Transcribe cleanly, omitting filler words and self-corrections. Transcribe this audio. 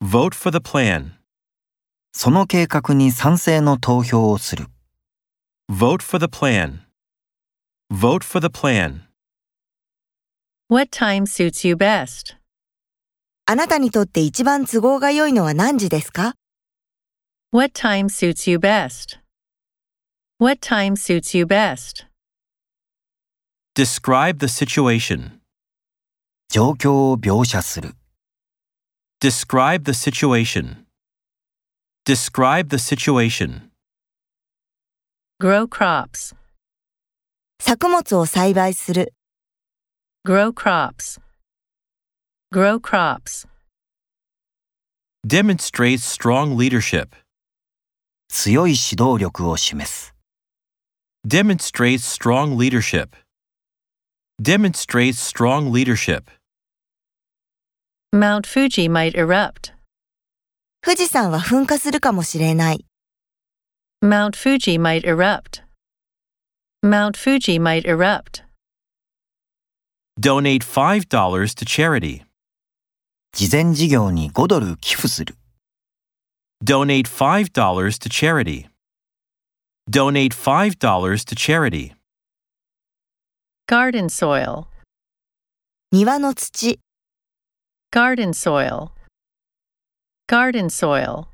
Vote for the plan. その計画に賛成の投票をする。 Vote for the plan. Vote for the plan. What time suits you best? あなたにとって一番都合が良いのは何時ですか？ What time suits you best? What time suits you best? Describe the situation. 状況を描写する。 Describe the situation. Describe the situation. Grow crops. 作物を栽培する。 Grow crops. Grow crops. Demonstrate strong leadership. 強い指導力を示す。 Demonstrate strong leadership. Demonstrate strong leadership. Mount Fuji might erupt. 富士山は噴火するかもしれない。 Mount Fuji might erupt. Mount Fuji might erupt. Donate $5 to charity. 慈善事業に5ドル寄付する。 Donate $5 to charity. Donate $5 to charity. Garden soil. 庭の土。 Garden soil. Garden soil.